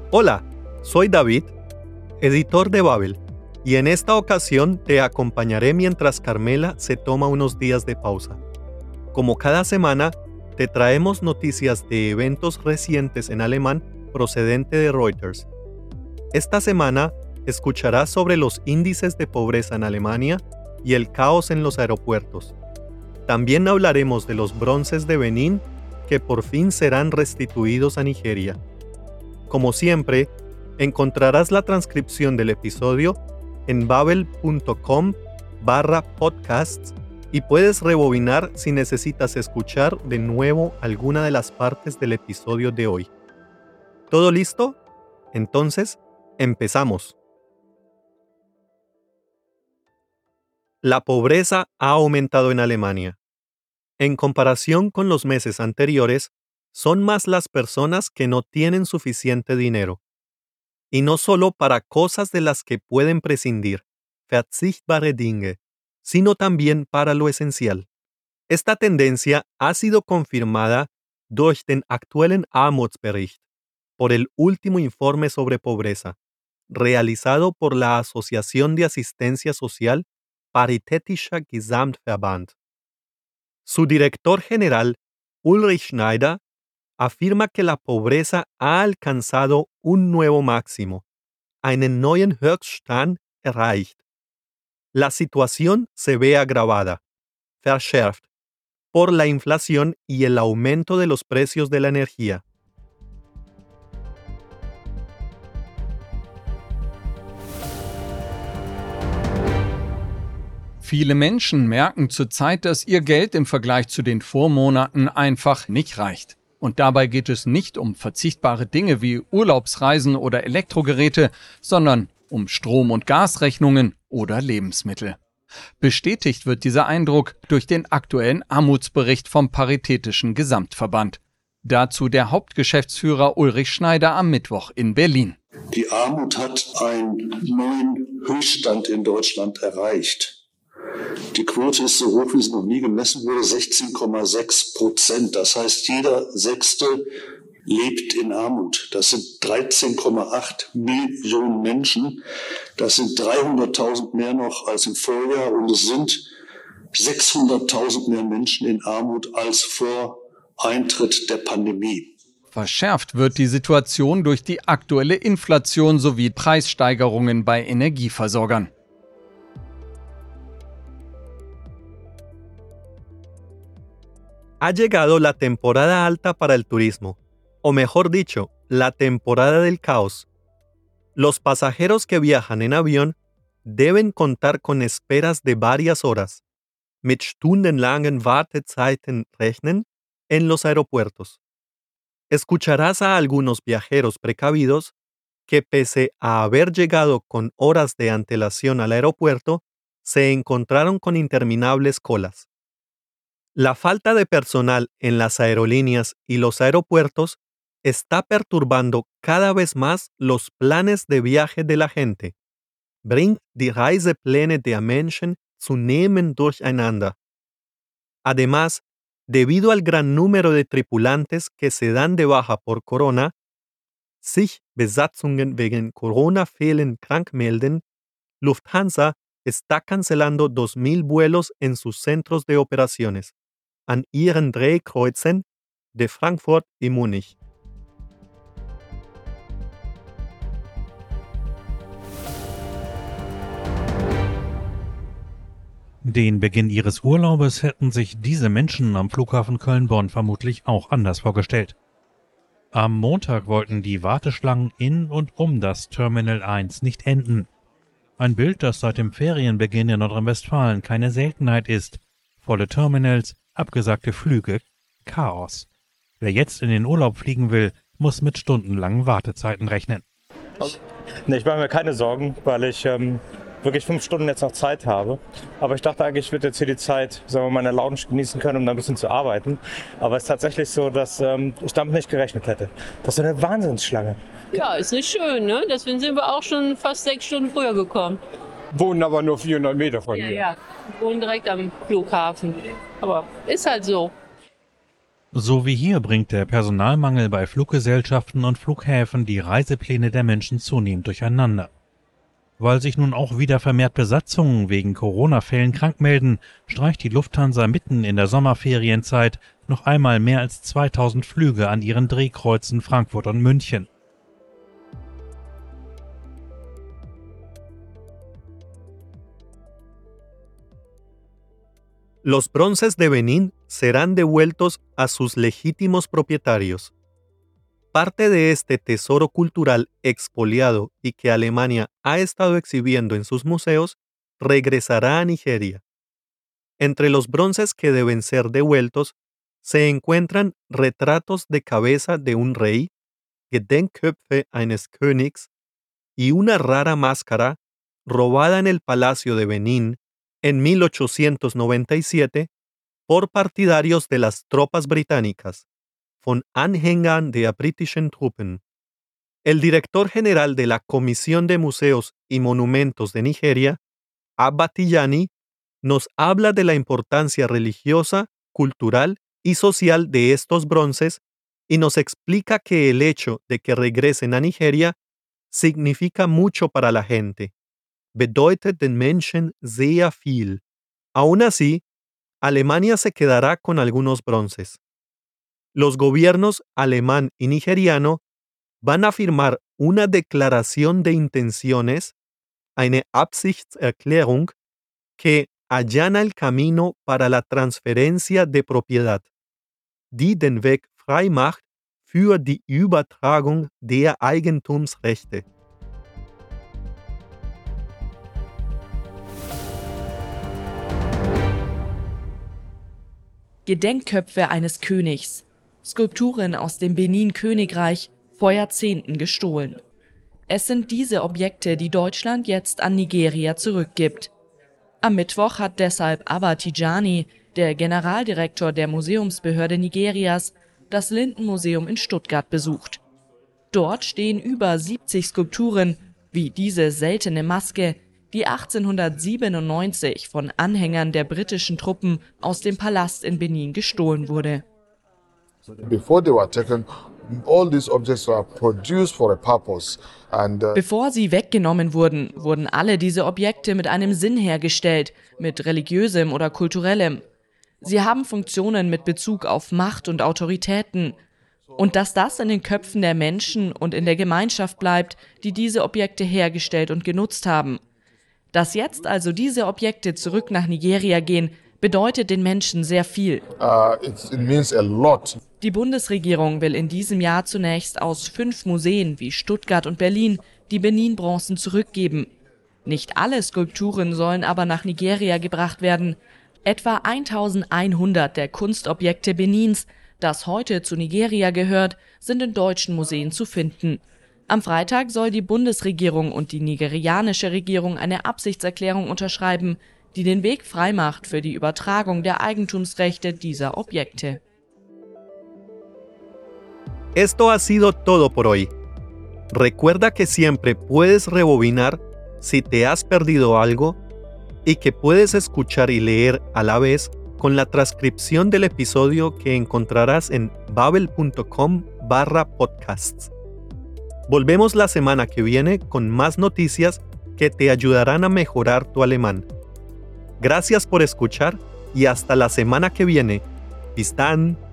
Hola, soy David, editor de Babel, y en esta ocasión te acompañaré mientras Carmela se toma unos días de pausa. Como cada semana, te traemos noticias de eventos recientes en alemán procedente de Reuters. Esta semana escucharás sobre los índices de pobreza en Alemania y el caos en los aeropuertos. También hablaremos de los bronces de Benín que por fin serán restituidos a Nigeria. Como siempre, encontrarás la transcripción del episodio en babel.com/podcasts y puedes rebobinar si necesitas escuchar de nuevo alguna de las partes del episodio de hoy. ¿Todo listo? Entonces, empezamos. La pobreza ha aumentado en Alemania. En comparación con los meses anteriores, son más las personas que no tienen suficiente dinero. Y no solo para cosas de las que pueden prescindir, verzichtbare Dinge, sino también para lo esencial. Esta tendencia ha sido confirmada durch den aktuellen Armutsbericht, por el último informe sobre pobreza, realizado por la Asociación de Asistencia Social Paritätischer Gesamtverband. Su director general, Ulrich Schneider, afirma que la pobreza ha alcanzado un nuevo máximo, einen neuen Höchststand erreicht. La situación se ve agravada, verschärft, por la inflación y el aumento de los precios de la energía. Viele Menschen merken zurzeit, dass ihr Geld im Vergleich zu den Vormonaten einfach nicht reicht. Und dabei geht es nicht um verzichtbare Dinge wie Urlaubsreisen oder Elektrogeräte, sondern um Strom- und Gasrechnungen oder Lebensmittel. Bestätigt wird dieser Eindruck durch den aktuellen Armutsbericht vom Paritätischen Gesamtverband. Dazu der Hauptgeschäftsführer Ulrich Schneider am Mittwoch in Berlin. Die Armut hat einen neuen Höchststand in Deutschland erreicht. Die Quote ist so hoch, wie sie noch nie gemessen wurde, 16,6%. Das heißt, jeder Sechste lebt in Armut. Das sind 13,8 Millionen Menschen. Das sind 300.000 mehr noch als im Vorjahr und es sind 600.000 mehr Menschen in Armut als vor Eintritt der Pandemie. Verschärft wird die Situation durch die aktuelle Inflation sowie Preissteigerungen bei Energieversorgern. Ha llegado la temporada alta para el turismo, o mejor dicho, la temporada del caos. Los pasajeros que viajan en avión deben contar con esperas de varias horas, mit stundenlangen Wartezeiten rechnen, en los aeropuertos. Escucharás a algunos viajeros precavidos que pese a haber llegado con horas de antelación al aeropuerto, se encontraron con interminables colas. La falta de personal en las aerolíneas y los aeropuertos está perturbando cada vez más los planes de viaje de la gente. Bringt die Reisepläne der Menschen zunehmend durcheinander. Además, debido al gran número de tripulantes que se dan de baja por Corona, sich Besatzungen wegen Corona fehlen krank melden, Lufthansa está cancelando 2.000 vuelos en sus centros de operaciones, an ihren Drehkreuzen de Frankfurt y Múnich. Den Beginn ihres Urlaubes hätten sich diese Menschen am Flughafen Köln-Bonn vermutlich auch anders vorgestellt. Am Montag wollten die Warteschlangen in und um das Terminal 1 nicht enden. Ein Bild, das seit dem Ferienbeginn in Nordrhein-Westfalen keine Seltenheit ist. Volle Terminals, abgesagte Flüge, Chaos. Wer jetzt in den Urlaub fliegen will, muss mit stundenlangen Wartezeiten rechnen. Nee, ich mache mir keine Sorgen, weil ich wirklich 5 Stunden jetzt noch Zeit habe. Aber ich dachte eigentlich, ich würde jetzt hier die Zeit, sagen wir mal, in der Lounge genießen können, um da ein bisschen zu arbeiten. Aber es ist tatsächlich so, dass ich damit nicht gerechnet hätte. Das ist eine Wahnsinnsschlange. Ja, ist nicht schön, ne? Deswegen sind wir auch schon fast 6 Stunden früher gekommen. Wohnen aber nur 400 Meter von hier. Ja, wohnen direkt am Flughafen. Aber ist halt so. So wie hier bringt der Personalmangel bei Fluggesellschaften und Flughäfen die Reisepläne der Menschen zunehmend durcheinander. Weil sich nun auch wieder vermehrt Besatzungen wegen Corona-Fällen krank melden, streicht die Lufthansa mitten in der Sommerferienzeit noch einmal mehr als 2000 Flüge an ihren Drehkreuzen Frankfurt und München. Los bronces de Benín serán devueltos a sus legítimos propietarios. Parte de este tesoro cultural expoliado y que Alemania ha estado exhibiendo en sus museos regresará a Nigeria. Entre los bronces que deben ser devueltos se encuentran retratos de cabeza de un rey, Gedenkköpfe eines Königs, y una rara máscara robada en el Palacio de Benín en 1897 por partidarios de las tropas británicas, von Anhängern der britischen Truppen. El director general de la Comisión de Museos y Monumentos de Nigeria, Abba Tijani, nos habla de la importancia religiosa, cultural y social de estos bronces y nos explica que el hecho de que regresen a Nigeria significa mucho para la gente. Bedeutet den Menschen sehr viel. Aún así, Alemania se quedará con algunos bronces. Los gobiernos alemán y nigeriano van a firmar una declaración de intenciones, eine Absichtserklärung, que allana el camino para la transferencia de propiedad, die den Weg frei macht für die Übertragung der Eigentumsrechte. Gedenkköpfe eines Königs, Skulpturen aus dem Benin-Königreich, vor Jahrzehnten gestohlen. Es sind diese Objekte, die Deutschland jetzt an Nigeria zurückgibt. Am Mittwoch hat deshalb Abba Tijani, der Generaldirektor der Museumsbehörde Nigerias, das Lindenmuseum in Stuttgart besucht. Dort stehen über 70 Skulpturen, wie diese seltene Maske, die 1897 von Anhängern der britischen Truppen aus dem Palast in Benin gestohlen wurde. Before they were taken, all these objects were produced for a purpose. Bevor sie weggenommen wurden, wurden alle diese Objekte mit einem Sinn hergestellt, mit religiösem oder kulturellem. Sie haben Funktionen mit Bezug auf Macht und Autoritäten. Und dass das in den Köpfen der Menschen und in der Gemeinschaft bleibt, die diese Objekte hergestellt und genutzt haben. Dass jetzt also diese Objekte zurück nach Nigeria gehen, bedeutet den Menschen sehr viel. It means a lot. Die Bundesregierung will in diesem Jahr zunächst aus 5 Museen wie Stuttgart und Berlin die Benin-Bronzen zurückgeben. Nicht alle Skulpturen sollen aber nach Nigeria gebracht werden. Etwa 1100 der Kunstobjekte Benins, das heute zu Nigeria gehört, sind in deutschen Museen zu finden. Am Freitag soll die Bundesregierung und die nigerianische Regierung eine Absichtserklärung unterschreiben, die den Weg freimacht für die Übertragung der Eigentumsrechte dieser Objekte. Esto ha sido todo por hoy. Recuerda que siempre puedes rebobinar si te has perdido algo y que puedes escuchar y leer a la vez con la transcripción del episodio que encontrarás en babel.com/podcasts. Volvemos la semana que viene con más noticias que te ayudarán a mejorar tu alemán. Gracias por escuchar y hasta la semana que viene. Bis dann!